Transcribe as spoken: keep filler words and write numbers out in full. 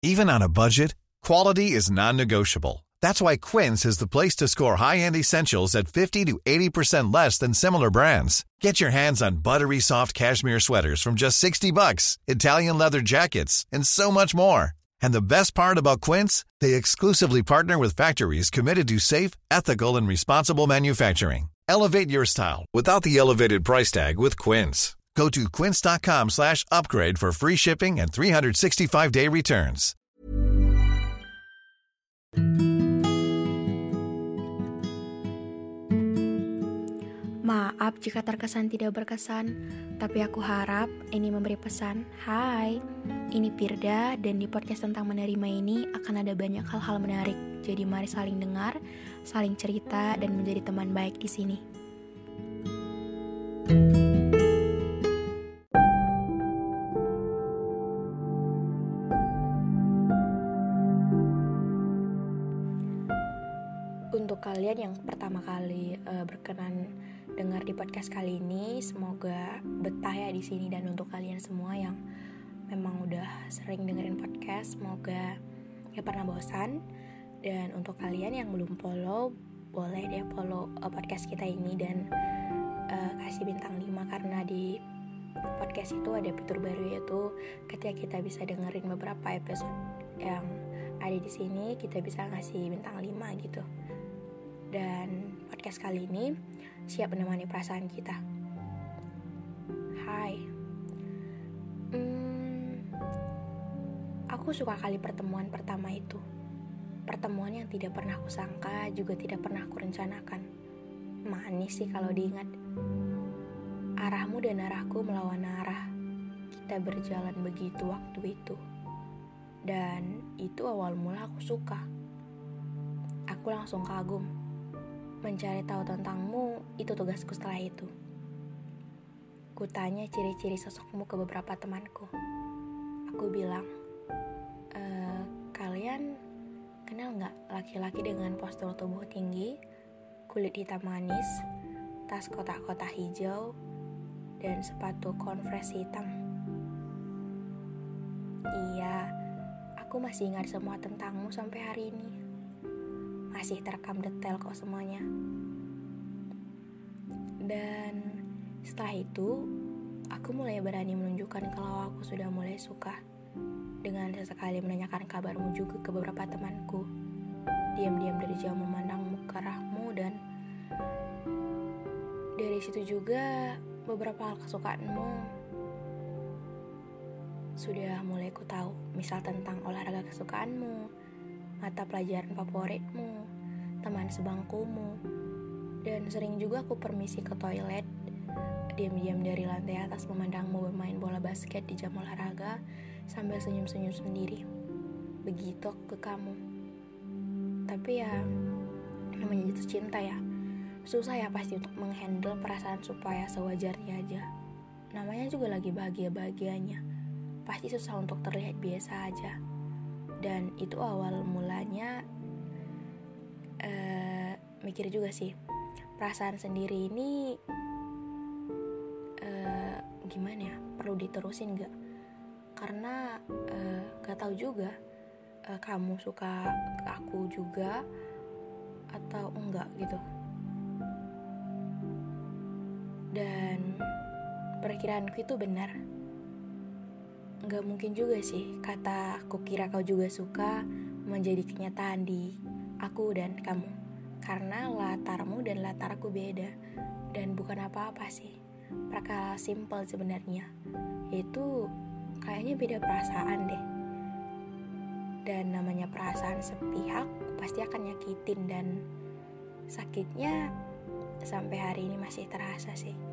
Even on a budget, quality is non-negotiable. That's why Quince is the place to score high-end essentials at fifty to eighty percent less than similar brands. Get your hands on buttery soft cashmere sweaters from just sixty bucks, Italian leather jackets, and so much more. And the best part about Quince, they exclusively partner with factories committed to safe, ethical, and responsible manufacturing. Elevate your style without the elevated price tag with Quince. Go to quince.com slash upgrade for free shipping and three sixty-five day returns. Maaf jika terkesan tidak berkesan, tapi aku harap ini memberi pesan. Hai, ini Firda, dan di podcast tentang menerima ini akan ada banyak hal-hal menarik. Jadi mari saling dengar, saling cerita, dan menjadi teman baik di sini. Untuk kalian yang pertama kali uh, berkenan dengar di podcast kali ini, semoga betah ya di sini. Dan untuk kalian semua yang memang udah sering dengerin podcast, semoga gak pernah bosan. Dan untuk kalian yang belum follow, boleh deh follow uh, podcast kita ini dan uh, kasih bintang lima, karena di podcast itu ada fitur baru, yaitu ketika kita bisa dengerin beberapa episode yang ada di sini, kita bisa ngasih bintang lima gitu. Dan podcast kali ini siap menemani perasaan kita. Hai, hmm, aku suka kali pertemuan pertama itu. Pertemuan yang tidak pernah aku sangka, juga tidak pernah aku rencanakan. Manis sih kalau diingat. Arahmu dan arahku melawan arah. Kita berjalan begitu waktu itu. Dan itu awal mula aku suka. Aku langsung kagum. Mencari tahu tentangmu, itu tugasku setelah itu. Kutanya ciri-ciri sosokmu ke beberapa temanku. Aku bilang, e, kalian kenal gak laki-laki dengan postur tubuh tinggi, kulit hitam manis, tas kotak-kotak hijau, dan sepatu Converse hitam? Iya, aku masih ingat semua tentangmu sampai hari ini. Masih terekam detail kok semuanya. Dan setelah itu, aku mulai berani menunjukkan kalau aku sudah mulai suka, dengan sesekali menanyakan kabarmu juga ke beberapa temanku. Diam-diam dari jauh memandang muka rahmu, dan dari situ juga beberapa hal kesukaanmu sudah mulai ku tahu. Misal tentang olahraga kesukaanmu, mata pelajaran favoritmu, teman sebangkumu. Dan sering juga aku permisi ke toilet, diam-diam dari lantai atas memandangmu bermain bola basket di jam olahraga sambil senyum-senyum sendiri. Begitu ke kamu. Tapi ya, namanya jatuh cinta ya, susah ya pasti untuk menghandle perasaan supaya sewajarnya aja. Namanya juga lagi bahagia-bahagianya, pasti susah untuk terlihat biasa aja. Dan itu awal mulanya uh, mikir juga sih, perasaan sendiri ini uh, gimana ya, perlu diterusin gak? Karena uh, gak tahu juga uh, kamu suka ke aku juga atau enggak gitu. Dan perkiraanku itu benar. Gak mungkin juga sih kata aku kira kau juga suka menjadi kenyataan di aku dan kamu. Karena latarmu dan latarku beda. Dan bukan apa-apa sih, perkara simple sebenarnya. Itu kayaknya beda perasaan deh. Dan namanya perasaan sepihak pasti akan nyakitin, dan sakitnya sampai hari ini masih terasa sih.